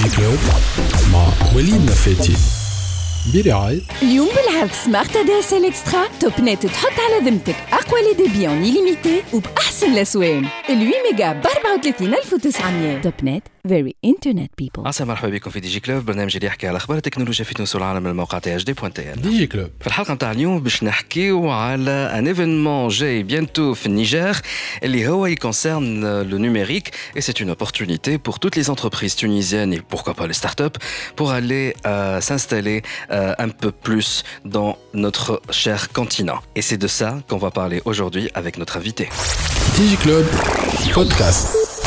كلوب مع وليد نفاتي برعاية اليوم بالعرض سمارت ADSL اكسترا توب نت تحط على ذمتك اقوى لي ديبي اون ليميتي وباحسن الاسوان 8 ميجا ب 34900 توب نت فيري انترنت بيبل. عسى مرحبا بكم في دي جي كلوب، برنامج اللي يحكي على اخبار التكنولوجيا في تونس والعالم من الموقع THD.tn. دي جي كلوب في الحلقه نتاع اليوم باش نحكيو على ان ايفينمون جاي بيانتو في النيجر اللي هو يكونسيرن لو نوميريك et c'est une opportunité pour toutes les entreprises tunisiennes et pourquoi pas les startups pour aller s'installer un peu plus dans notre cher continent. Et c'est de ça qu'on va parler aujourd'hui avec notre invité. دي جي كلوب بودكاست.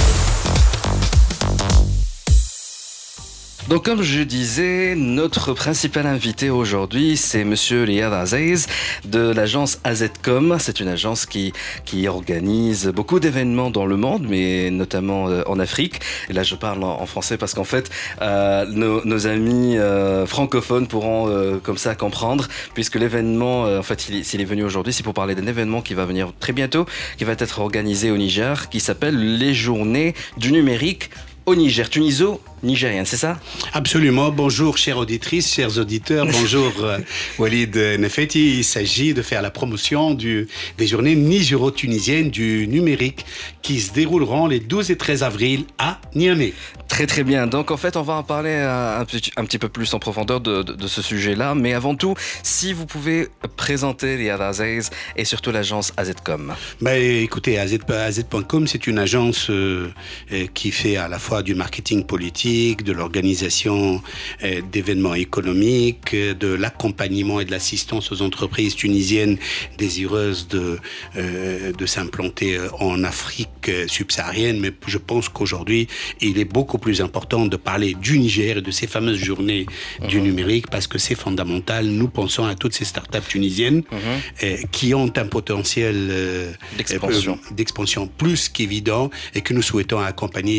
Donc comme je disais, notre principal invité aujourd'hui, c'est monsieur Riyad Aziz de l'agence AZCOM. C'est une agence qui organise beaucoup d'événements dans le monde, mais notamment en Afrique. Et là, je parle en français parce qu'en fait, nos amis francophones pourront comme ça comprendre, puisque l'événement, en fait, s'il est venu aujourd'hui, c'est pour parler d'un événement qui va venir très bientôt, qui va être organisé au Niger, qui s'appelle les Journées du numérique au Niger. Tuniso-nigérienne, c'est ça ? Absolument. Bonjour, chères auditrices, chers auditeurs. Bonjour, Walid Nefeti. Il s'agit de faire la promotion des journées nigéro-tunisiennes du numérique qui se dérouleront les 12 et 13 avril à Niamey. Très très bien. Donc en fait, on va en parler un petit peu plus en profondeur de ce sujet-là. Mais avant tout, si vous pouvez présenter Riyad Aziz et surtout l'agence AZCOM. Écoutez, AZ.com, c'est une agence qui fait à la fois du marketing politique, de l'organisation d'événements économiques, de l'accompagnement et de l'assistance aux entreprises tunisiennes désireuses de s'implanter en Afrique subsaharienne. Mais je pense qu'aujourd'hui, il est beaucoup plus important de parler du Niger et de ces fameuses journées du numérique parce que c'est fondamental. Nous pensons à toutes ces startups tunisiennes qui ont un potentiel d'expansion plus qu'évident et que nous souhaitons accompagner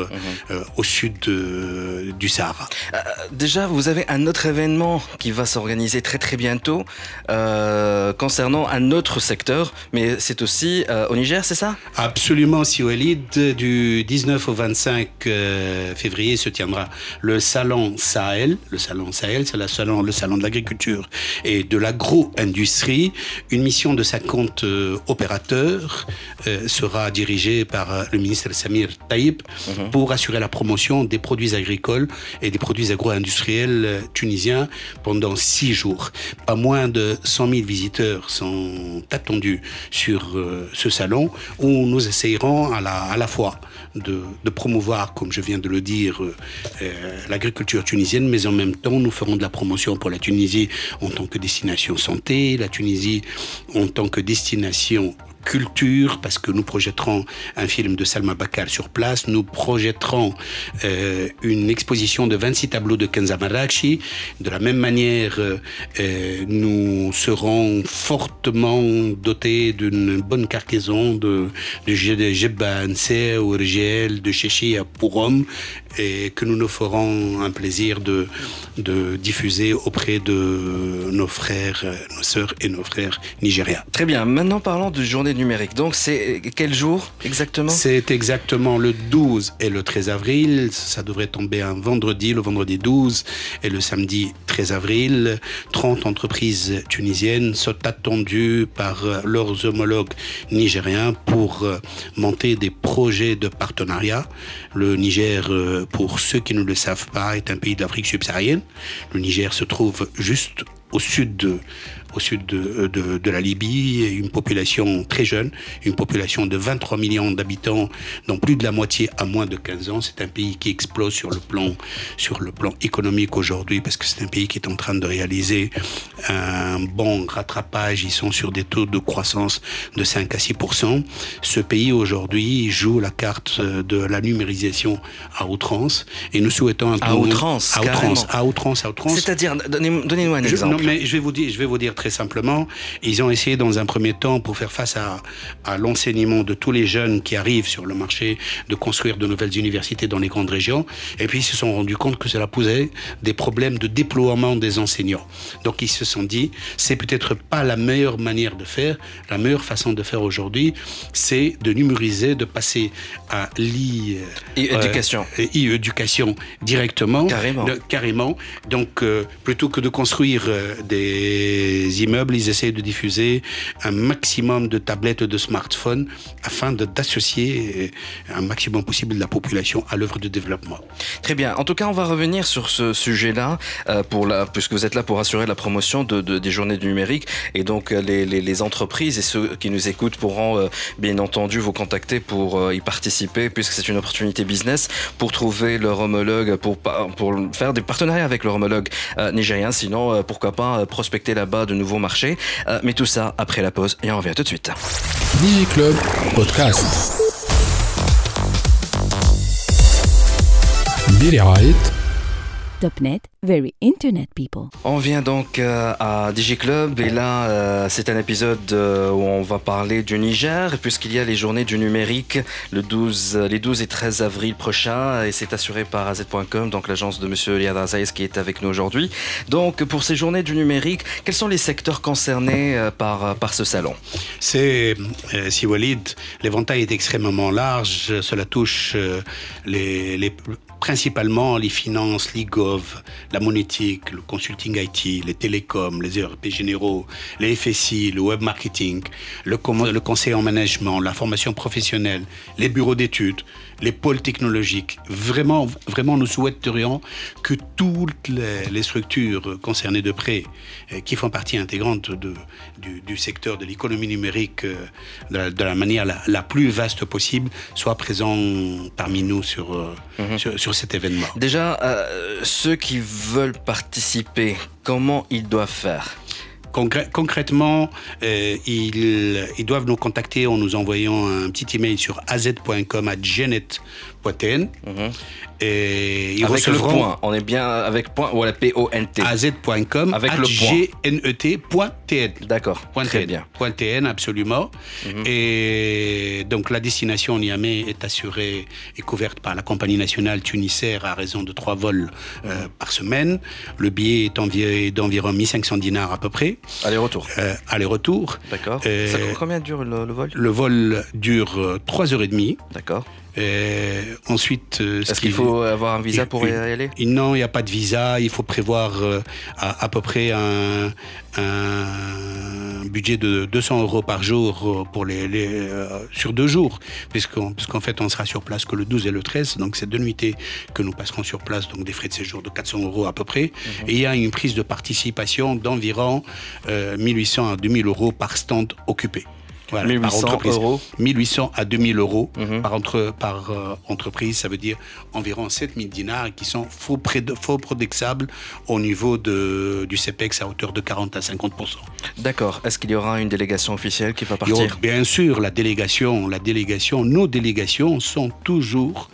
au sud du Sahara. Déjà, vous avez un autre événement qui va s'organiser très très bientôt concernant un autre secteur, mais c'est aussi au Niger, c'est ça ? Absolument, si Walid. Du 19 au 25 février se tiendra le Salon Sahel. Le Salon Sahel, c'est le salon de l'agriculture et de l'agro-industrie. Une mission de 50 opérateurs sera dirigée par le ministre Samir Taïb pour assurer la promotion des produits agricoles et des produits agro-industriels tunisiens pendant 6 jours. Pas moins de 100 000 visiteurs sont attendus sur ce salon où nous essayerons à la fois de promouvoir, comme je viens de le dire, l'agriculture tunisienne, mais en même temps, nous ferons de la promotion pour la Tunisie en tant que destination santé, la Tunisie en tant que destination culture, parce que nous projetterons un film de Salma Bakar sur place, nous projetterons une exposition de 26 tableaux de Kenza Marrakchi. De la même manière, nous serons fortement dotés d'une bonne cargaison de Jebba Ansé ou Rigel, de Chéchi à Pourom, et que nous nous ferons un plaisir de diffuser auprès de nos frères, nos sœurs et nos frères nigériens. Très bien, maintenant parlons de journée numérique. Donc c'est quel jour exactement ? C'est exactement le 12 et le 13 avril. Ça devrait tomber un vendredi, le vendredi 12 et le samedi 13 avril. 30 entreprises tunisiennes sont attendues par leurs homologues nigériens pour monter des projets de partenariat. Le Niger, pour ceux qui ne le savent pas, est un pays d'Afrique subsaharienne. Le Niger se trouve juste au sud de la Libye, une population très jeune, une population de 23 millions d'habitants, dont plus de la moitié a moins de 15 ans. C'est un pays qui explose sur le plan économique aujourd'hui, parce que c'est un pays qui est en train de réaliser un bon rattrapage. Ils sont sur des taux de croissance de 5 à 6%. Ce pays aujourd'hui joue la carte de la numérisation à outrance, et nous souhaitons à outrance. C'est-à-dire, donnez-nous un exemple. mais je vais vous dire très simplement, ils ont essayé dans un premier temps, pour faire face à l'enseignement de tous les jeunes qui arrivent sur le marché, de construire de nouvelles universités dans les grandes régions. Et puis, ils se sont rendus compte que cela posait des problèmes de déploiement des enseignants. Donc, ils se sont dit, c'est peut-être pas la meilleure manière de faire. La meilleure façon de faire aujourd'hui, c'est de numériser, de passer à e-éducation directement. Carrément. Donc, plutôt que de construire des immeubles, ils essayent de diffuser un maximum de tablettes, de smartphones, afin d'associer un maximum possible de la population à l'œuvre de développement. Très bien. En tout cas, on va revenir sur ce sujet-là, puisque vous êtes là pour assurer la promotion des journées du numérique. Et donc, les entreprises et ceux qui nous écoutent pourront, bien entendu, vous contacter pour y participer, puisque c'est une opportunité business pour trouver leur homologue, pour faire des partenariats avec leur homologue nigérien. Sinon, pourquoi pas prospecter là-bas de nouveaux marchés. Mais tout ça après la pause et on revient tout de suite. DigiClub Podcast برعاية Topnet, very internet people. On vient donc à DigiClub et là c'est un épisode où on va parler du Niger puisqu'il y a les journées du numérique les 12 et 13 avril prochains et c'est assuré par AZ.com, donc l'agence de monsieur Riyad Aziz qui est avec nous aujourd'hui. Donc pour ces journées du numérique, quels sont les secteurs concernés par ce salon? C'est, si Walid, l'éventail est extrêmement large, cela touche principalement les finances, l'e-gov, la monétique, le consulting IT, les télécoms, les ERP généraux, les FSI, le web marketing, le conseil en management, la formation professionnelle, les bureaux d'études, les pôles technologiques. Vraiment, nous souhaiterions que toutes les structures concernées de près, qui font partie intégrante du secteur de l'économie numérique de la manière la plus vaste possible, soient présents parmi nous sur cet événement. Déjà, ceux qui veulent participer, comment ils doivent faire ? Concrètement, ils doivent nous contacter en nous envoyant un petit email sur az.com@genet.tn. Et ils avec recevront... le point, on est bien avec point ou la PONT. az.com avec le gnet.tn. D'accord, très bien. .tn, absolument. Et donc la destination Niamey est assurée et couverte par la compagnie nationale Tunisair à raison de 3 vols par semaine. Le billet est d'environ 1500 dinars à peu près. Aller-retour. Aller-retour. D'accord. Ça coûte combien dure le vol ? Le vol dure 3h30. D'accord. Ensuite, est-ce qu'il faut avoir un visa pour y aller ? Non, il n'y a pas de visa. Il faut prévoir à peu près un budget de 200 € par jour pour sur 2 jours, puisqu'en fait, on sera sur place que le 12 et le 13. Donc, c'est 2 nuitées que nous passerons sur place, donc des frais de séjour de 400 € à peu près. Et il y a une prise de participation d'environ 1800 à 2000 € par stand occupé. Voilà, 1800 à 2000 € par entreprise, ça veut dire environ 7000 dinars qui sont faux prodexables au niveau du CEPEX à hauteur de 40 à 50%. D'accord. Est-ce qu'il y aura une délégation officielle qui va partir ? Bien sûr, nos délégations sont toujours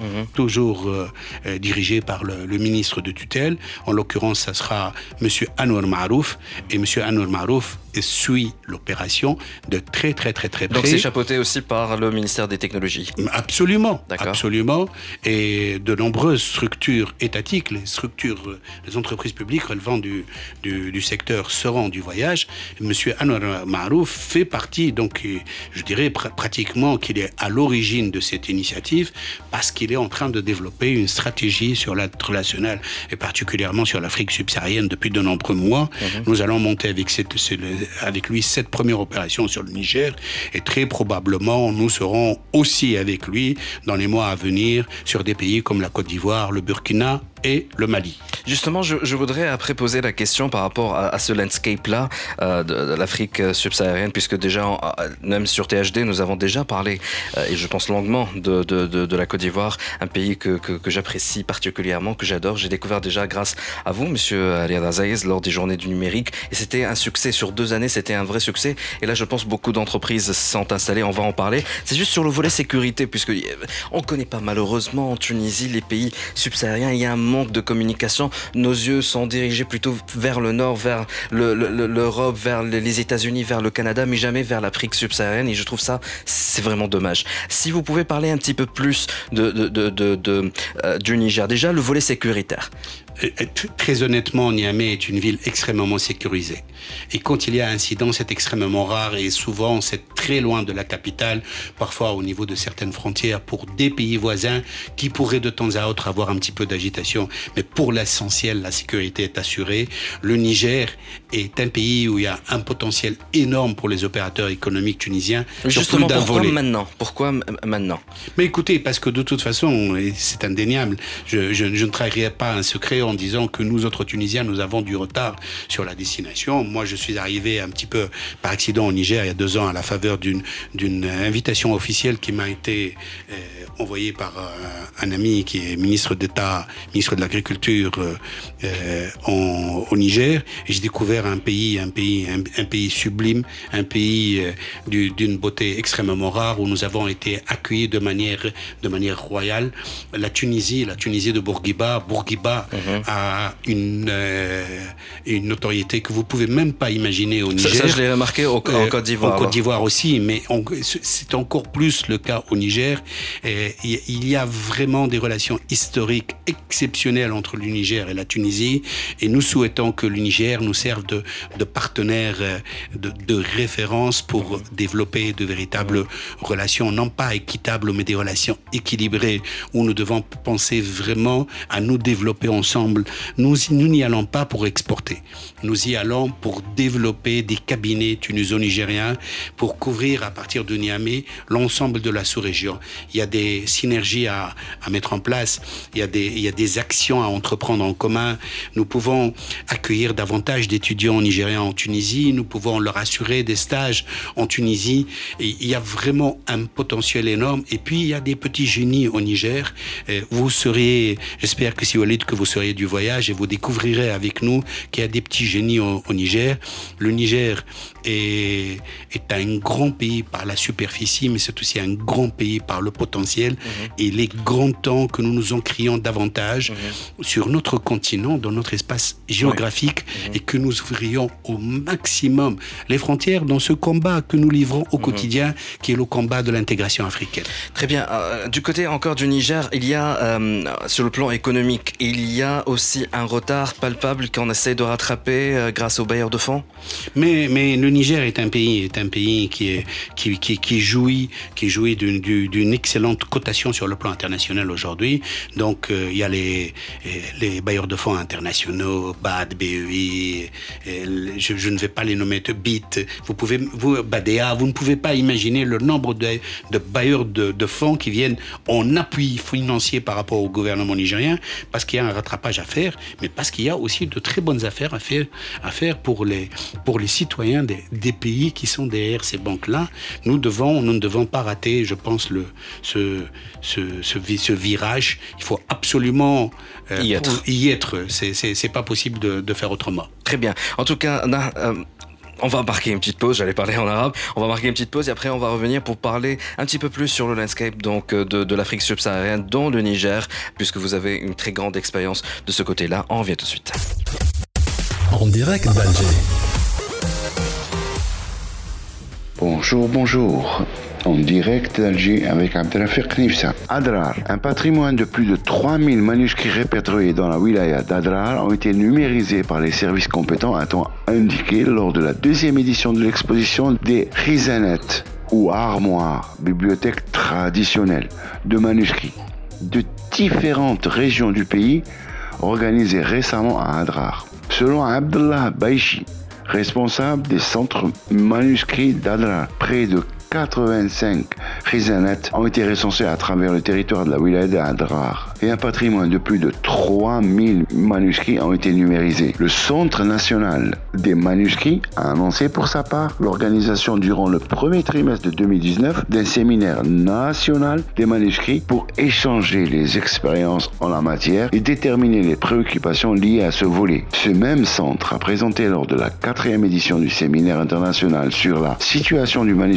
dirigées par le ministre de tutelle. En l'occurrence, ça sera monsieur Anouar Marouf. Et monsieur Anouar Marouf suit l'opération de très très près. Donc c'est chapeauté aussi par le ministère des Technologies. Absolument. D'accord. Absolument. Et de nombreuses structures étatiques, les entreprises publiques relevant du secteur seront du voyage. Monsieur Anouar Marouf fait partie, donc je dirais pratiquement qu'il est à l'origine de cette initiative parce qu'il est en train de développer une stratégie sur l'international et particulièrement sur l'Afrique subsaharienne depuis de nombreux mois. Nous allons monter avec lui cette première opération sur le Niger. Et très probablement, nous serons aussi avec lui dans les mois à venir sur des pays comme la Côte d'Ivoire, le Burkina et le Mali. Justement, je voudrais après poser la question par rapport à ce landscape-là de l'Afrique subsaharienne, puisque déjà, même sur THD, nous avons déjà parlé, et je pense longuement, de la Côte d'Ivoire, un pays que j'apprécie particulièrement, que j'adore. J'ai découvert déjà grâce à vous, monsieur Riyad Aziz, lors des journées du numérique, et c'était un succès. Sur 2 années, c'était un vrai succès. Et là, je pense beaucoup d'entreprises sont installées, on va en parler. C'est juste sur le volet sécurité, puisque on ne connaît pas malheureusement en Tunisie les pays subsahariens. Il y a un manque de communication. Nos yeux sont dirigés plutôt vers le nord, vers l'Europe, vers les États-Unis, vers le Canada, mais jamais vers l'Afrique subsaharienne. Et je trouve ça, c'est vraiment dommage. Si vous pouvez parler un petit peu plus du Niger. Déjà, le volet sécuritaire. Très honnêtement, Niamey est une ville extrêmement sécurisée. Et quand il y a incident, c'est extrêmement rare et souvent c'est très loin de la capitale, parfois au niveau de certaines frontières pour des pays voisins qui pourraient de temps à autre avoir un petit peu d'agitation. Mais pour l'essentiel, la sécurité est assurée. Le Niger est un pays où il y a un potentiel énorme pour les opérateurs économiques tunisiens. Justement, pourquoi maintenant? Mais écoutez, parce que de toute façon, et c'est indéniable, je ne trahirai pas un secret en disant que nous autres Tunisiens, nous avons du retard sur la destination. Moi, je suis arrivé un petit peu par accident au Niger il y a 2 ans à la faveur d'une invitation officielle qui m'a été envoyée par un ami qui est ministre d'État, ministre de l'Agriculture au Niger. Et j'ai découvert un pays sublime, un pays d'une beauté extrêmement rare où nous avons été accueillis de manière royale. La Tunisie de Bourguiba a une notoriété que vous pouvez même pas imaginer au Niger. Ça je l'ai remarqué en Côte d'Ivoire. En Côte d'Ivoire aussi, mais c'est encore plus le cas au Niger. Il y a vraiment des relations historiques exceptionnelles entre le Niger et la Tunisie, et nous souhaitons que le Niger nous serve de partenaire de référence pour développer de véritables relations, non pas équitables, mais des relations équilibrées, où nous devons penser vraiment à nous développer ensemble. Nous n'y allons pas pour exporter. Nous y allons pour développer des cabinets tuniso-nigériens pour couvrir à partir de Niamey l'ensemble de la sous-région. Il y a des synergies à mettre en place. Il y a des actions à entreprendre en commun. Nous pouvons accueillir davantage d'étudiants nigériens en Tunisie. Nous pouvons leur assurer des stages en Tunisie. Et il y a vraiment un potentiel énorme. Et puis, il y a des petits génies au Niger. Vous serez, j'espère que si Walid, que vous seriez du voyage et vous découvrirez avec nous qu'il y a des petits génies au Niger. Le Niger est un grand pays par la superficie, mais c'est aussi un grand pays par le potentiel. Et il est grand temps que nous nous ancrions davantage sur notre continent, dans notre espace géographique, et que nous ouvrions au maximum les frontières dans ce combat que nous livrons au quotidien, qui est le combat de l'intégration africaine. Très bien. Du côté encore du Niger, il y a, sur le plan économique, il y a aussi un retard palpable qu'on essaie de rattraper grâce aux bailleurs de fonds. Mais le Niger est un pays qui jouit d'une excellente cotation sur le plan international aujourd'hui. Donc il y a les bailleurs de fonds internationaux, BAD, BEI, je ne vais pas les nommer, BIT, BADEA, vous ne pouvez pas imaginer le nombre de bailleurs de fonds qui viennent en appui financier par rapport au gouvernement nigérien, parce qu'il y a un rattrapage à faire, mais parce qu'il y a aussi de très bonnes affaires à faire pour les citoyens des pays qui sont derrière ces banques-là. Nous ne devons pas rater, je pense, ce virage. Il faut absolument y être. C'est pas possible de faire autrement. Très bien. En tout cas, on va marquer une petite pause, j'allais parler en arabe. On va marquer une petite pause et après on va revenir pour parler un petit peu plus sur le landscape donc de l'Afrique subsaharienne, dont le Niger, puisque vous avez une très grande expérience de ce côté-là. On revient tout de suite. En direct d'Alger. Bonjour. En direct d'Alger avec Abdelrafiq Nifsa. Adrar, un patrimoine de plus de 3000 manuscrits répertoriés dans la wilaya d'Adrar ont été numérisés par les services compétents, a-t-on indiqué lors de la 2e édition de l'exposition des Khizanet, ou armoires, bibliothèques traditionnelles de manuscrits de différentes régions du pays, organisées récemment à Adrar. Selon Abdallah Baichi, responsable des centres manuscrits d'Adrar, près de 85 Khizanet ont été recensés à travers le territoire de la wilaya d'Adrar et un patrimoine de plus de 3000 manuscrits ont été numérisés. Le Centre national des manuscrits a annoncé pour sa part l'organisation durant le premier trimestre de 2019 d'un séminaire national des manuscrits pour échanger les expériences en la matière et déterminer les préoccupations liées à ce volet. Ce même centre a présenté lors de la 4e édition du séminaire international sur la situation du manuscrit algérien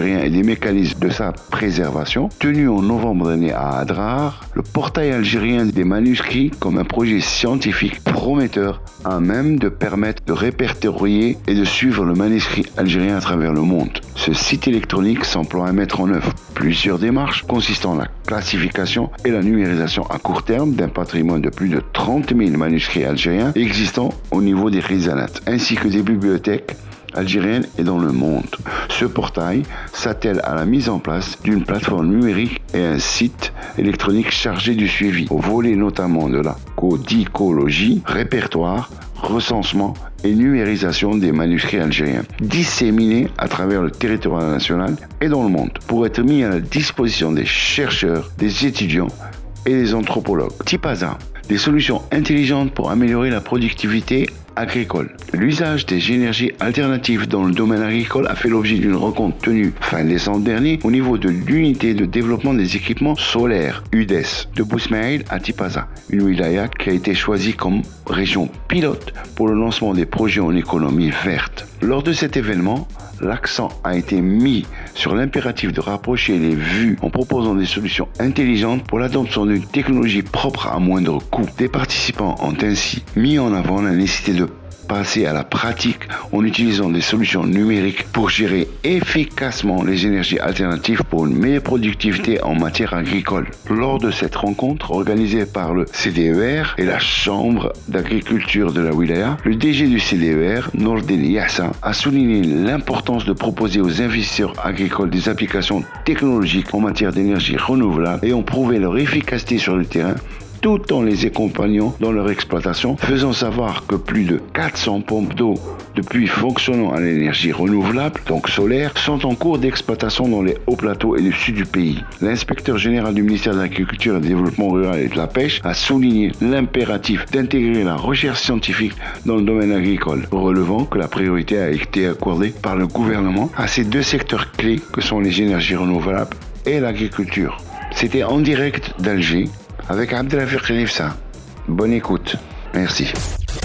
algérien et des mécanismes de sa préservation. Tenu en novembre dernier à Adrar, le portail algérien des manuscrits comme un projet scientifique prometteur à même de permettre de répertorier et de suivre le manuscrit algérien à travers le monde. Ce site électronique s'emploie à mettre en œuvre plusieurs démarches consistant en la classification et la numérisation à court terme d'un patrimoine de plus de 30 000 manuscrits algériens existants au niveau des Rizanat, ainsi que des bibliothèques algérienne et dans le monde. Ce portail s'attelle à la mise en place d'une plateforme numérique et un site électronique chargé du suivi, au volet notamment de la codicologie, répertoire, recensement et numérisation des manuscrits algériens, disséminés à travers le territoire national et dans le monde, pour être mis à la disposition des chercheurs, des étudiants et des anthropologues. Tipaza, des solutions intelligentes pour améliorer la productivité agricole. L'usage des énergies alternatives dans le domaine agricole a fait l'objet d'une rencontre tenue fin décembre dernier au niveau de l'unité de développement des équipements solaires UDES de Bousmaïl à Tipaza, une wilaya qui a été choisie comme région pilote pour le lancement des projets en économie verte. Lors de cet événement, l'accent a été mis sur l'impératif de rapprocher les vues en proposant des solutions intelligentes pour l'adoption d'une technologie propre à moindre coût. Des participants ont ainsi mis en avant la nécessité de passer à la pratique en utilisant des solutions numériques pour gérer efficacement les énergies alternatives pour une meilleure productivité en matière agricole. Lors de cette rencontre organisée par le CDER et la Chambre d'agriculture de la Wilaya, le DG du CDER, Nordin Yassa, a souligné l'importance de proposer aux investisseurs agricoles des applications technologiques en matière d'énergie renouvelable et ont prouvé leur efficacité sur le terrain tout en les accompagnant dans leur exploitation, faisant savoir que plus de 400 pompes d'eau de puits fonctionnant à l'énergie renouvelable, donc solaire, sont en cours d'exploitation dans les hauts plateaux et le sud du pays. L'inspecteur général du ministère de l'Agriculture et du Développement rural et de la Pêche a souligné l'impératif d'intégrer la recherche scientifique dans le domaine agricole, relevant que la priorité a été accordée par le gouvernement à ces deux secteurs clés que sont les énergies renouvelables et l'agriculture. C'était en direct d'Alger, avec Abdelhafiq Nifsa. Bonne écoute. Merci.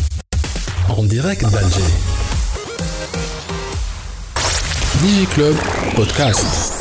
En direct d'Alger. DigiClub Podcast.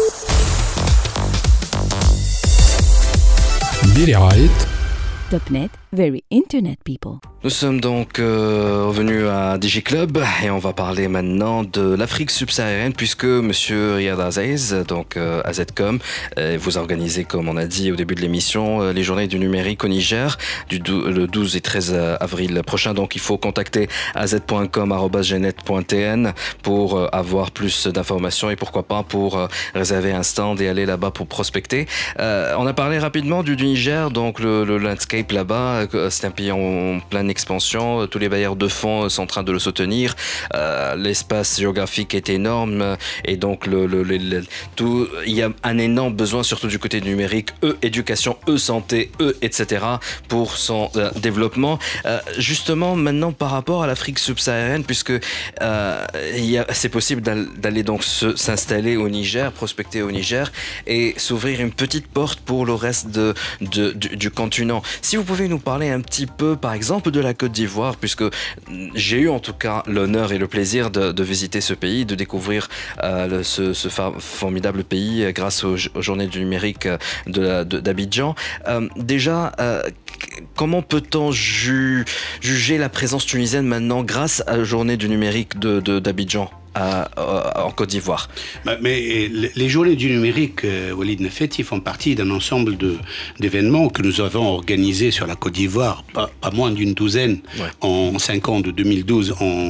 برعاية Topnet, very internet people. Nous sommes donc revenus à DigiClub et on va parler maintenant de l'Afrique subsaharienne puisque Monsieur Riyad Aziz, donc AZCOM, vous organisez, comme on a dit au début de l'émission, les journées du numérique au Niger le 12 et 13 avril prochain. Donc il faut contacter az.com@genet.tn pour avoir plus d'informations et pourquoi pas pour réserver un stand et aller là-bas pour prospecter. On a parlé rapidement du Niger, donc le landscape là-bas, c'est un pays en pleine expansion, tous les bailleurs de fonds sont en train de le soutenir, l'espace géographique est énorme et donc il y a un énorme besoin, surtout du côté numérique, éducation, santé, etc. pour son développement. Justement, maintenant par rapport à l'Afrique subsaharienne, puisque c'est possible d'aller donc s'installer au Niger, prospecter au Niger et s'ouvrir une petite porte pour le reste du continent. Si vous pouvez nous parler un petit peu, par exemple, de la Côte d'Ivoire, puisque j'ai eu en tout cas l'honneur et le plaisir de visiter ce pays, de découvrir ce formidable pays grâce aux journées du numérique d'Abidjan. Déjà, comment peut-on juger la présence tunisienne maintenant grâce à la journée du numérique d'Abidjan en Côte d'Ivoire? Mais les journées du numérique, Walid Nefet, ils font partie d'un ensemble d'événements que nous avons organisés sur la Côte d'Ivoire, pas moins d'une douzaine, en 5 ans, de 2012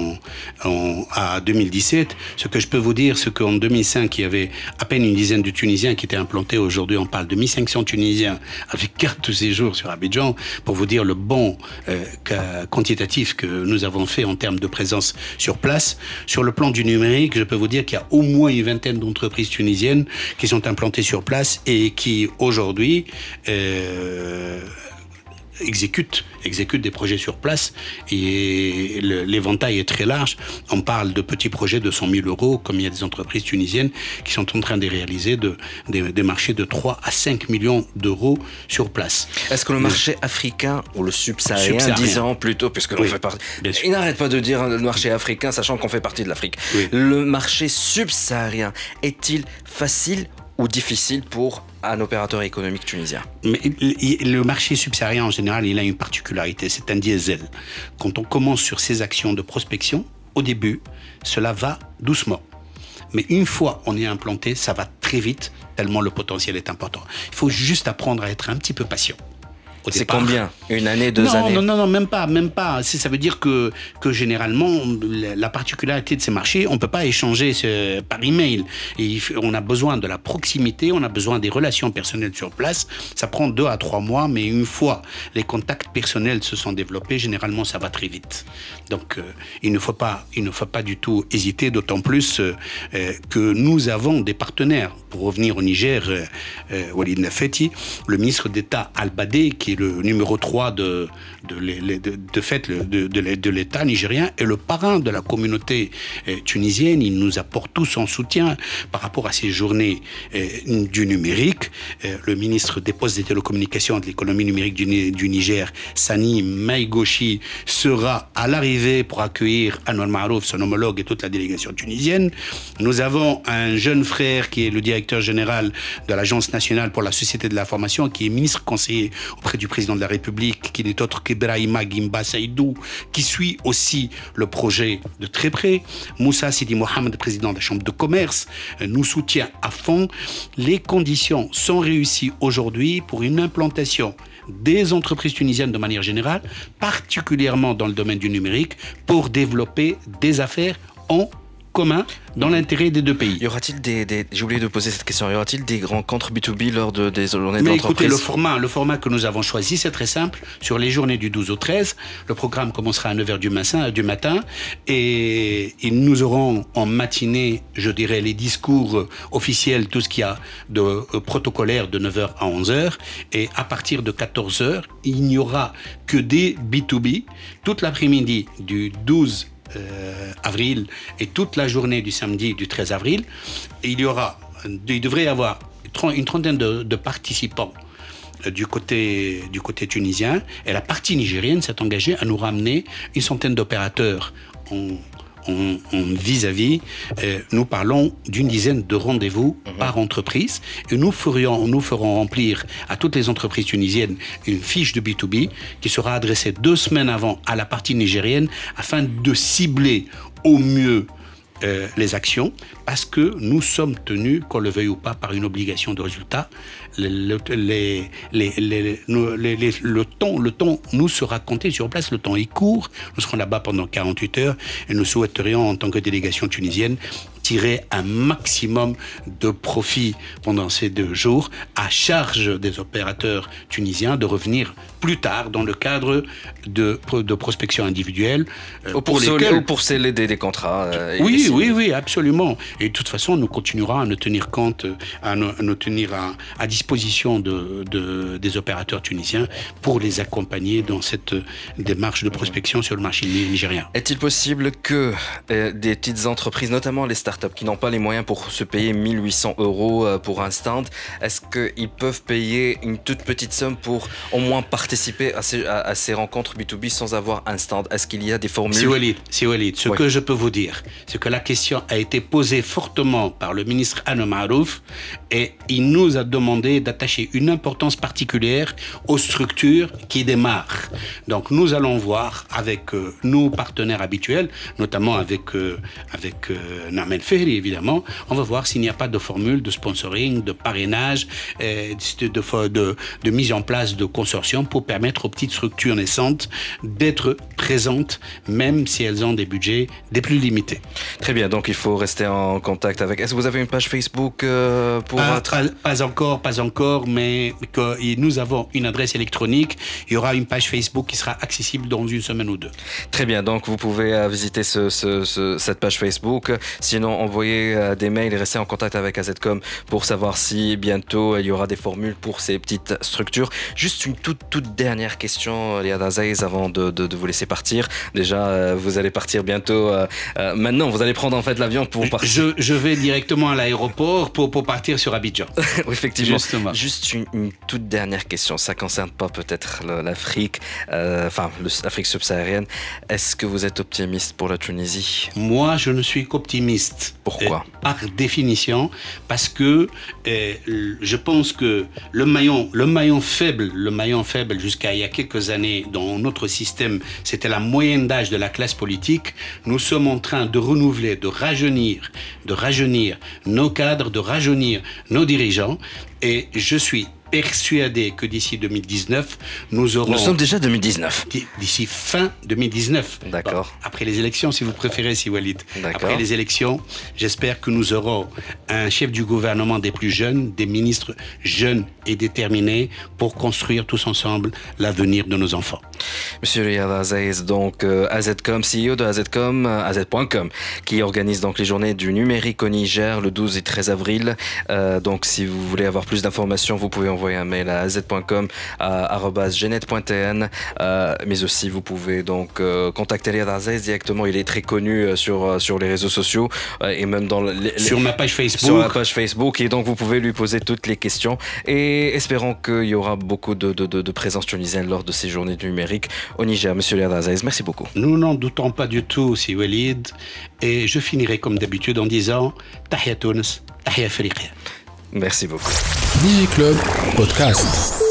à 2017. Ce que je peux vous dire, c'est qu'en 2005, il y avait à peine une dizaine de Tunisiens qui étaient implantés. Aujourd'hui, on parle de 1500 Tunisiens avec carte de séjour sur Abidjan, pour vous dire le bond quantitatif que nous avons fait en termes de présence sur place. Sur le plan du numérique, je peux vous dire qu'il y a au moins une vingtaine d'entreprises tunisiennes qui sont implantées sur place et qui, aujourd'hui, exécutent des projets sur place et l'éventail est très large. On parle de petits projets de 100 000 euros, comme il y a des entreprises tunisiennes qui sont en train de réaliser des marchés de 3 à 5 millions d'euros sur place. Est-ce que le marché africain ou le subsaharien, disons plutôt, puisque l'on fait partie... Il n'arrête pas de dire le marché africain, sachant qu'on fait partie de l'Afrique. Oui. Le marché subsaharien est-il facile ou difficile pour un opérateur économique tunisien? Mais le marché subsaharien, en général, il a une particularité, c'est un diesel. Quand on commence sur ces actions de prospection, au début, cela va doucement. Mais une fois on est implanté, ça va très vite, tellement le potentiel est important. Il faut juste apprendre à être un petit peu patient. C'est combien? Une année, 2 années? Non, même pas. Ça veut dire que généralement, la particularité de ces marchés, on ne peut pas échanger par email. Et on a besoin de la proximité, on a besoin des relations personnelles sur place. Ça prend 2 à 3 mois, mais une fois les contacts personnels se sont développés, généralement, ça va très vite. Donc, il ne faut pas du tout hésiter, d'autant plus que nous avons des partenaires. Pour revenir au Niger, Walid Nafeti, le ministre d'État Al-Badé, qui est le numéro 3 de l'État nigérien et le parrain de la communauté tunisienne. Il nous apporte tout son soutien par rapport à ces journées du numérique. Le ministre des Postes et des Télécommunications et de l'économie numérique du Niger, Sani Maïgochi, sera à l'arrivée pour accueillir Anouar Marouf, son homologue, et toute la délégation tunisienne. Nous avons un jeune frère qui est le directeur général de l'Agence nationale pour la société de l'information, qui est ministre conseiller auprès du président de la République, qui n'est autre qu'Ibrahima Gimba Saïdou, qui suit aussi le projet de très près. Moussa Sidi Mohamed, président de la Chambre de commerce, nous soutient à fond. Les conditions sont réussies aujourd'hui pour une implantation des entreprises tunisiennes de manière générale, particulièrement dans le domaine du numérique, pour développer des affaires en commun dans l'intérêt des deux pays. Y aura-t-il j'ai oublié de poser cette question, y aura-t-il des rencontres B2B lors des journées Mais d'entreprise? Écoutez, le format que nous avons choisi, c'est très simple. Sur les journées du 12 au 13, le programme commencera à 9h du matin et nous aurons en matinée, je dirais, les discours officiels, tout ce qu'il y a de protocolaire de 9h à 11h, et à partir de 14h, il n'y aura que des B2B toute l'après-midi du 12 avril et toute la journée du samedi du 13 avril. Et il devrait y avoir une trentaine de participants du côté tunisien, et la partie nigérienne s'est engagée à nous ramener une centaine d'opérateurs en vis-à-vis. Nous parlons d'une dizaine de rendez-vous par entreprise, et nous ferons remplir à toutes les entreprises tunisiennes une fiche de B2B qui sera adressée 2 semaines avant à la partie nigérienne, afin de cibler au mieux les actions, parce que nous sommes tenus, qu'on le veuille ou pas, par une obligation de résultat. Le temps nous sera compté sur place, le temps est court, nous serons là-bas pendant 48 heures, et nous souhaiterions, en tant que délégation tunisienne, tirer un maximum de profit pendant ces 2 jours, à charge des opérateurs tunisiens de revenir plus tard dans le cadre de prospection individuelle. Ou pour sceller des contrats. Oui, absolument. Et de toute façon, nous continuerons à nous tenir compte, à nous tenir à disposition des opérateurs tunisiens pour les accompagner dans cette démarche de prospection sur le marché nigérien. Est-il possible que des petites entreprises, notamment les startups, qui n'ont pas les moyens pour se payer 1 800 € pour un stand, est-ce qu'ils peuvent payer une toute petite somme pour au moins participer à ces rencontres B2B sans avoir un stand? Est-ce qu'il y a des formules? Si Walid, ce que je peux vous dire, c'est que la question a été posée fortement par le ministre Anouar Marouf, et il nous a demandé d'attacher une importance particulière aux structures qui démarrent. Donc nous allons voir avec nos partenaires habituels, notamment avec Namel Fehri, évidemment. On va voir s'il n'y a pas de formule de sponsoring, de parrainage, de mise en place de consortiums pour permettre aux petites structures naissantes d'être présentes, même si elles ont des budgets des plus limités. Très bien, donc il faut rester en contact avec... Est-ce que vous avez une page Facebook pour Pas encore, mais nous avons une adresse électronique. Il y aura une page Facebook qui sera accessible dans 1 semaine ou 2. Très bien, donc vous pouvez visiter cette page Facebook. Sinon, envoyer des mails et rester en contact avec AZCOM pour savoir si bientôt il y aura des formules pour ces petites structures. Juste une toute dernière question, Liad Aziz, avant de vous laisser partir. Déjà, vous allez partir bientôt. Maintenant, vous allez prendre en fait l'avion pour partir. Je vais directement à l'aéroport pour partir sur Abidjan. Oui, effectivement. Justement. Juste une toute dernière question. Ça ne concerne pas peut-être l'Afrique, l'Afrique subsaharienne. Est-ce que vous êtes optimiste pour la Tunisie? Moi, je ne suis qu'optimiste. Pourquoi? Par définition, parce que je pense que le maillon faible jusqu'à il y a quelques années dans notre système, c'était la moyenne d'âge de la classe politique. Nous sommes en train de renouveler, de rajeunir nos cadres, de rajeunir nos dirigeants. Et je suis persuadé que d'ici 2019, nous aurons... Nous sommes déjà 2019. D'ici fin 2019. D'accord. Bon, après les élections, si vous préférez, si Walid. D'accord. Après les élections, j'espère que nous aurons un chef du gouvernement des plus jeunes, des ministres jeunes et déterminés pour construire tous ensemble l'avenir de nos enfants. Monsieur Liad Aziz, donc AZCOM, CEO de AZCOM, AZ.com, qui organise donc les journées du numérique au Niger le 12 et 13 avril. Donc si vous voulez avoir plus d'informations, vous pouvez envoyer un mail à az.com @genet.tn, mais aussi vous pouvez donc contacter Liad Aziz directement. Il est très connu sur les réseaux sociaux et même dans sur ma page Facebook. Sur la page Facebook, et donc vous pouvez lui poser toutes les questions. Et espérons qu'il y aura beaucoup de présence tunisienne lors de ces journées du numérique au Niger. Monsieur Liad Aziz, merci beaucoup. Nous n'en doutons pas du tout, si Walid, et je finirai comme d'habitude en disant Tahia Tunis, Tahia Afrique. Merci beaucoup. Digi Club Podcast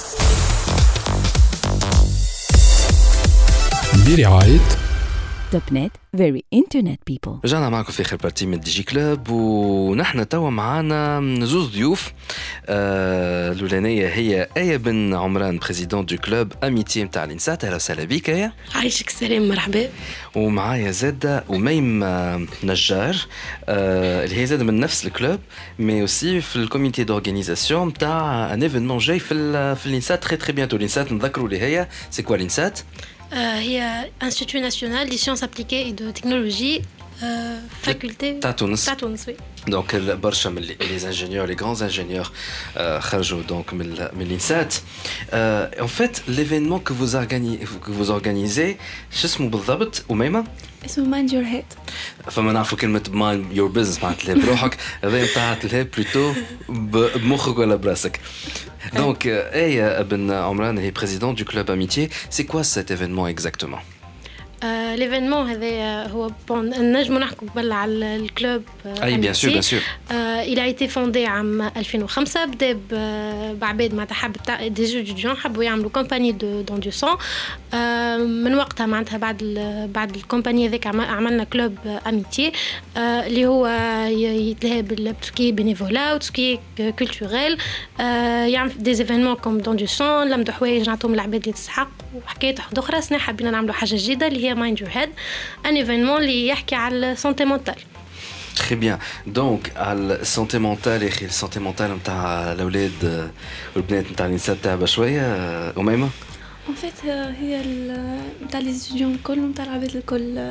برعاية توب نت very internet people. رجعنا معكم في آخر بارتي من دي جي كلوب، ونحن توا معانا زوز ضيوف. الأولانية هي آية بن عمران، بريزيدون دو كلوب أميتي متاع الإنسات. أهلا وسهلا بك آية. عايشك سلام، مرحبا. ومعايا زادة أميم نجار، اللي هي زادة من نفس الكلوب مي أوسي في الكوميتي دورغانيزاسيون متاع ان ايفينمون جاي في الإنسات تري تري بيانتو. الإنسات نذكروا اللي هي سي كوا الإنسات؟ هي Institut National des Sciences Appliquées et de Technologie, faculté تاع تونس. oui. دونك برشا من لي انجينيور، لي غران انجينيور خرجوا دونك من الانسات. ان فيت ليفينمون كو vous organisez شو اسمه بالضبط أميمة؟ اسمه مايند يور هيد. فما نعرفوا كلمة مايند يور بزنس معناتها بروحك، هذا نتاع تلهي بلوتو بمخك ولا براسك. Donc, Aya Ben Amran est président du club Amitié. C'est quoi cet événement exactement? L'événement هو نجم نحكوا قبل على الكلوب. Oui, bien sûr, bien sûr. Il a été fondé عام 2005. بدا بعباد معناتها حب تاع دي ستوديون حبوا يعملوا كومباني دون دو سون. من وقتها معناتها بعد الكومباني هذيك عملنا كلوب اميتي اللي هو يتلهى بالتسكي بينيفولا وتسكي كولتوريل، يعمل دي ايفينمون كوم دون دو سون، لمدوا حوايج نعطوهم العباد اللي تسحق وحكايات اخرى. سنا حابين نعملوا حاجه جديده اللي هي مايند يور هيد، ان ايفينمون اللي يحكي على السونتي مونتال. Très bien. Donc, la santé mentale et la santé mentale نتاع الأولاد والبنات نتاع الإنسان تاع بشوية أميمة؟ En fait هي نتاع لي ستوديون الكل ونتاع العباد الكل.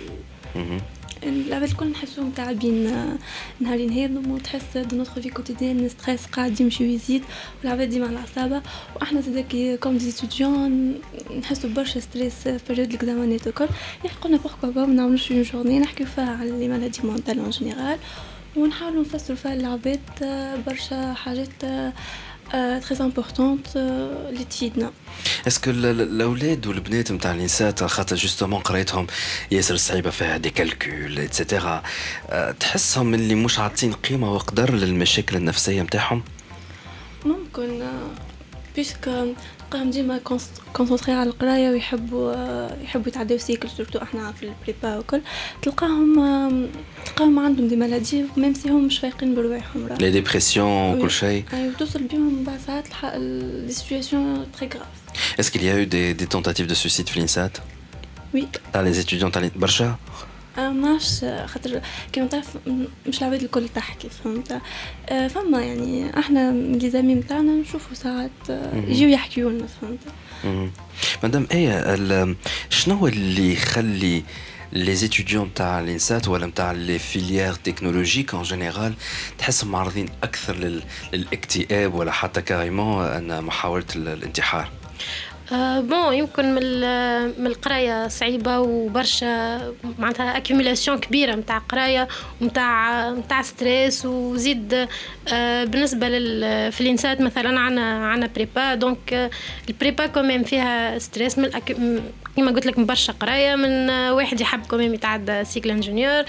العباد الكل نحسهم تعبين نهارين هذم، وتحس دو نوتر في كوتيديان ستريس قاعد يمشي ويزيد، والعباد ديما على العصابه. واحنا زادكي كوم دي ستوديون نحسوا برشا ستريس في بريود الاكزامانات الكل. قلنا بوركوا با ما نعملوش اون جورني نحكيو فيها على لي مالادي مونتال اون جينيرال، ونحاولوا نفسروا فيها للعباد برشا حاجات très importante اللي تفيدنا. اسكو الاولاد والبنات نتاع الانسات خاطر جوستومون قريتهم ياسر صعيبه فيها دي كالكول اتسيتيرا، تحسهم اللي مش عاطين قيمه وقدر للمشاكل النفسيه نتاعهم؟ ممكن بيسك قام ديما كونسونطري على القرايه ويحبوا يتعداو سيكل، سورتو احنا في البريبا وكل تلقاهم عندهم دي مالادي ميم سي هم مش فايقين برواحهم، لي ديبرسيون وكل شيء. ايوه توصل بهم بعض ساعات دي سيتوياسيون تري غراف. Est-ce qu'il y a eu des tentatives de suicide في الإنسات؟ Oui. تاع لي étudiants تاع برشا؟ ماش خاطر كيما تعرف مش العباد الكل تحكي، فهمت؟ فما يعني احنا لي زامي نتاعنا نشوفوا ساعات يجيو يحكيوا لنا، فهمت؟ مدام ايه شنو اللي يخلي les étudiants نتاع الانسات ولا نتاع les filières technologiques en général تحسهم معرضين اكثر للاكتئاب ولا حتى كاريمون ان محاولة الانتحار؟ بون يمكن من القرايه صعيبه وبرشا معناتها اكيوميلاسيون كبيره نتاع قرايه ونتاع ستريس وزيد بالنسبه في الانسات مثلا عنا بريبا دونك البريبا كمان فيها ستريس من كما قلت لك من برشا قرايه من واحد يحب كمان يتعدى سيكل انجينيور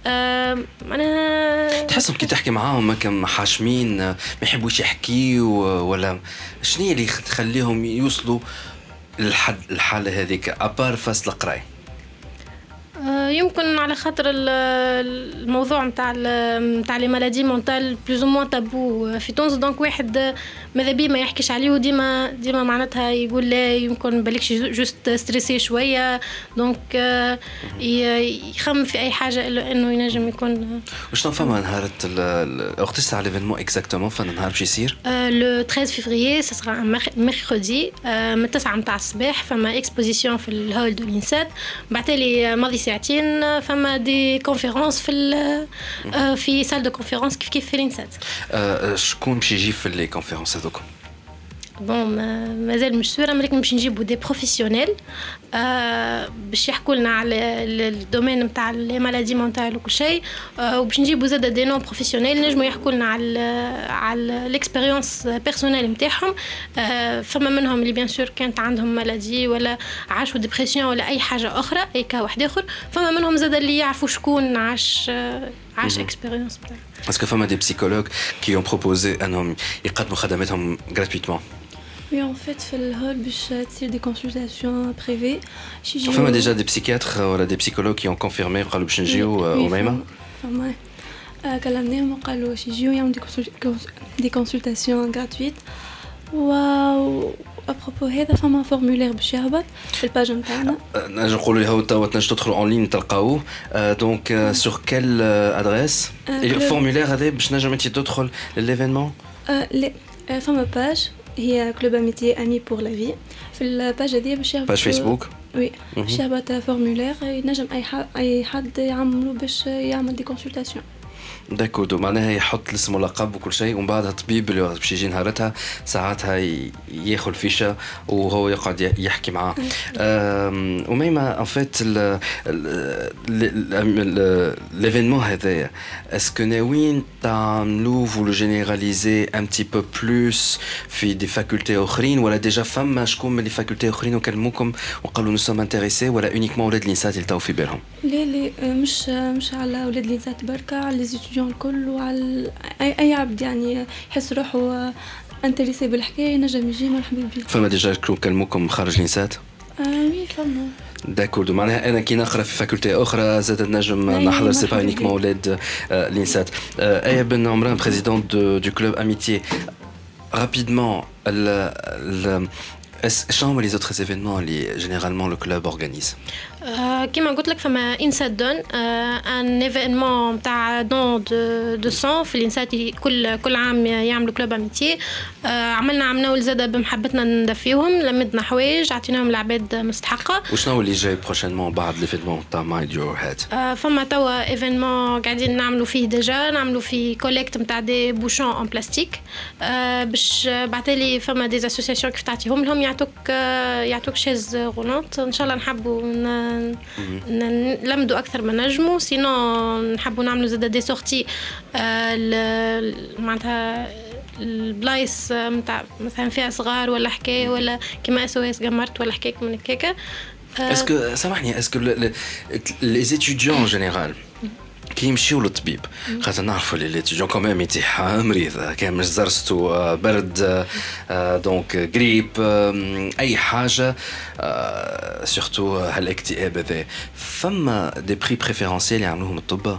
انا تحسهم كي تحكي معاهم هكا حاشمين ما يحبوش يحكيوا ولا شنو اللي تخليهم يوصلوا الحالة هذيك أبار فاس القراية؟ يمكن على خاطر الموضوع نتاع لي مالادي مونتال بلوز او موان تابو في تونس دونك واحد ماذا بيه ما يحكيش عليه وديما معناتها يقول لا يمكن بالكش جوست ستريسي شويه دونك يخمم في اي حاجه الا انه ينجم يكون. وشنو فما نهار وقت تاع ليفينمون اكزاكتومون فما نهار باش يصير؟ لو 13 فيفريي سا سرا ان ميركودي من 9 نتاع الصباح فما اكسبوزيسيون في الهول دو لينسات بعتلي ماضي ساعتين فما دي كونفيرونس في سال دو كونفيرونس كيف في لينسات. شكون باش يجي في لي كونفيرونس هذوك؟ بون مازال مش سورة ولكن باش نجيبوا دي بروفيسيونيل باش يحكوا لنا على الدومين نتاع لي مالادي مونتال وكل شيء وباش نجيبوا زاده دي نون بروفيسيونيل نجموا يحكوا لنا على الاكسبيريونس بيرسونيل نتاعهم. فما منهم اللي بيان سور كانت عندهم مالادي ولا عاشوا ديبرسيون ولا اي حاجه اخرى اي كا واحد اخر. فما منهم زاده اللي يعرفوا شكون عاش اكسبيريونس بتاعه. Est-ce que فما des psychologues qui ont proposé انهم يقدموا خدماتهم gratuitement؟ Oui, en fait, في الهول باش تصير des consultations privées. فما déjà des psychiatres ولا des psychologues qui ont confirmé قالوا باش نجيو وميمة؟ فما كلمناهم وقالوا باش يجيو يعملوا des consultations gratuites. واو ابروبو هذا فما فورمولير باش يهبط في الباج نتاعنا. نجم نقولوا لها توا تنجم تدخلوا اون لين تلقاوه دونك سور كيل ادريس الفورمولير هذا باش نجم انت تدخل لليفينمون؟ لا فما باج هي كلوب اميتي امي بور لا في في الباج هذه باش يهبط باج فيسبوك وي باش يهبط فورمولير ينجم اي حد يعملوا باش يعمل دي كونسلطاسيون. داكودو معناها يحط الاسم واللقب وكل شيء ومن بعدها الطبيب اللي باش يجي نهارتها ساعتها ياخذ الفيشه وهو يقعد يحكي معاه. وميمة ان فيت ليفينمون هذايا اسكو ناويين تعملوه فو لو جينيراليزي ان تي بو بلوس في دي فاكولتي اخرين ولا ديجا فما شكون من لي فاكولتي اخرين وكلموكم وقالوا نو سوم انتريسي ولا اونيكمون ولاد الانسات اللي تاو في بالهم؟ لا مش على ولاد الانسات بركه على لي ستوديون الكل وعلى اي عبد يعني يحس روحه انتريسي بالحكايه نجم يجي مرحبا بيه. فما ديجا كلموكم خارج الانسات؟ وي فما داكورد. معناها انا كي نقرا في فاكولتي اخرى زاد نجم نحضر سي با يونيكمون ولاد الانسات. ايه بن عمران بريزيدون دو كلوب اميتي رابيدمون شنو هما لي زوتر ايفينمون اللي جينيرالمون لو كلوب اورغانيز؟ كيما قلت لك فما انسات دون ان ايفينمون تاع دون دو سون في الانسات كل عام يعملوا كلوب اميتي. عملنا عمنا زاده بمحبتنا ندفيهم لمدنا حوايج عطيناهم العباد مستحقه. وشنو اللي جاي بروشينمون بعد ليفينمون تاع مايند يور هيد؟ فما توا ايفينمون قاعدين نعملوا فيه ديجا نعملوا فيه كوليكت نتاع دي بوشون اون بلاستيك باش بعتلي فما دي اسوسياسيون كيف تعطيهم لهم يعطوك شيز رولونت ان شاء الله نحبوا نلمدوا اكثر من نجموا سينو نحبوا نعملوا زاده دي سورتي معناتها البلايص نتاع مثلا فيها صغار ولا حكايه ولا كيما SOS قمرت ولا حكايه من هكاك. اسكو سامحني اسكو لي étudiants en général كي يمشيو للطبيب خاطر نعرفوا لي ليتيديون كوميم يتيح مريض كان مش زرستو برد دونك غريب اي حاجه سورتو هالاكتئاب هذا فما دي بري بريفيرونسيال يعملوهم الطب.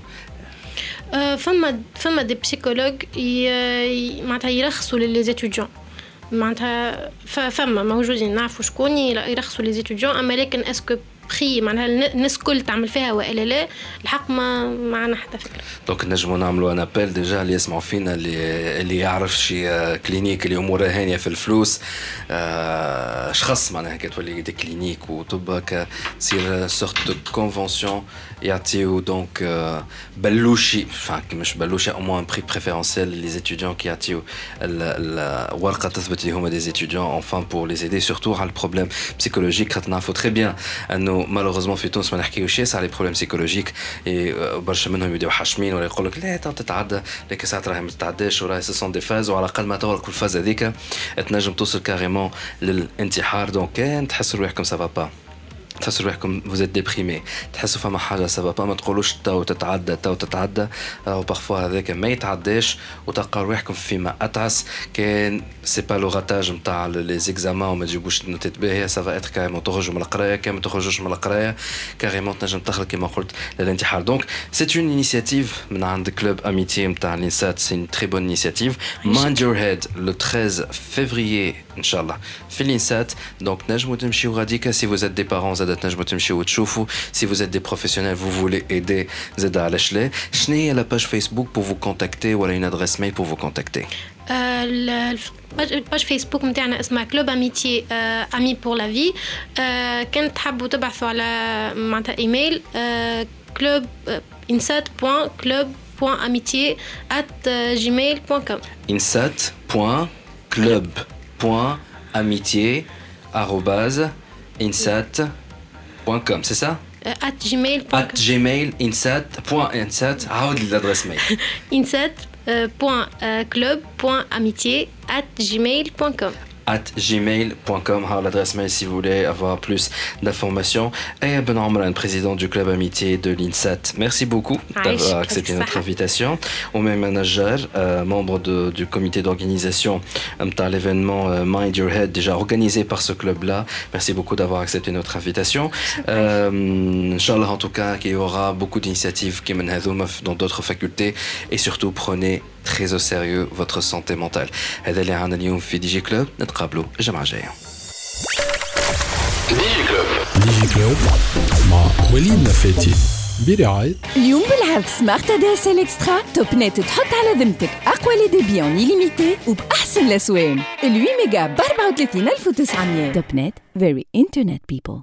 فما دي بسيكولوج معناتها يرخصوا للزيتيديون معناتها فما موجودين نعرفوا شكون يرخصوا للزيتيديون اما لكن اسكو بري معناها الناس كل تعمل فيها والا لا الحق ما معنا حتى فكره. دونك نجموا نعملوا ان ابل ديجا اللي يسمعوا فينا اللي يعرف شي كلينيك اللي امورها هانيه في الفلوس اشخاص معناها كتولي دي كلينيك وتبقى تصير سورت دو كونفونسيون يعطيو دونك بلوشي مش بلوشي او موان بري بريفيرونسيال لي ستوديون كي يعطيو الورقه تثبت لي هما دي ستوديون انفان بور لي ايدي سورتو على البروبليم بسيكولوجيك خاطر نعرفوا تري بيان انه مالوغوزمون في تونس ما نحكيوش ياسر على لي بروبليم بسيكولوجيك برشا منهم يبداو حاشمين ولا يقول لك لا تتعدى لكن ساعات راهي ما تتعداش وراهي سون دي فاز وعلى الاقل ما تغرق الفاز هذيك تنجم توصل كاريمون للانتحار دونك كان تحسوا روحكم سافا با تحسوا روحكم فوزيت ديبريمي تحسوا فما حاجه سافا با ما تقولوش تو تتعدى او بارفوا هذاك ما يتعداش وتلقى روحكم فيما اتعس كان سي با لو راتاج نتاع لي زيكزامان وما تجيبوش نوتات باهيه سافا اتر كاريمون تخرجوا من القرايه كان ما تخرجوش من القرايه كاريمون تنجم تخرج كما قلت للانتحار دونك سي اون انيشيتيف من عند كلوب اميتي نتاع لينسات سي اون تري بون انيشيتيف مايند يور هيد لو 13 فيفريي ان شاء الله في لينسات دونك نجموا تمشيو غاديكا سي فوز ات دي بارون زاد تنجموا تمشيو وتشوفوا سي فوز ات دي بروفيسيونيل فو فولي ايدي زاد على شلي شنو هي لا باج فيسبوك بور فو كونتاكتي ولا اون ادريس ميل بور فو كونتاكتي الباج فيسبوك نتاعنا اسمها كلوب اميتي امي بور لا في كان تحبوا تبحثوا على معناتها ايميل كلوب insat.club.amitié@gmail.com insat.club.amitié@insat.com c'est ça @gmail insat عاود l'adresse mail insat.club.amitié@gmail.com @gmail.com l'adresse mail si vous voulez avoir plus d'informations. Et Ben Omran, président du club amitié de l'INSAT, merci beaucoup d'avoir accepté notre invitation. Ou même manager, membre du comité d'organisation de l'événement Mind Your Head, déjà organisé par ce club-là. Merci beaucoup d'avoir accepté notre invitation. Inch'Allah, en tout cas, qu'il y aura beaucoup d'initiatives qui mènent dans d'autres facultés. Et surtout, prenez très au sérieux votre santé mentale. هذا اللي عندنا اليوم في دي جي كلوب نتقابلوا الجمعة الجاية. دي جي كلوب مع وليد نفاتي برعاية اليوم بالعرض سمارت دي اس ال اكسترا توب نت تحط على ذمتك اقوى لي ديبي اون ليميتي وباحسن الاسوان 8 ميجا ب 34900 توب نت فيري انترنت بيبل.